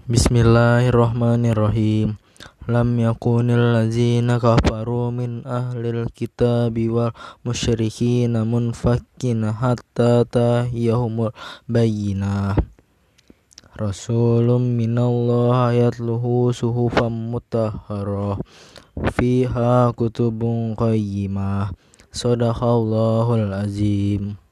Bismillahirrahmanirrahim. Lam yakunil ladzina kafaru min ahlil kitabi wal musyrikin munfakin hatta tahiyahumul bayyinah. Rasulun minallah yatluhu suhufam mutahharah fiha kutubun qayyimah. Shadaqallahul azim.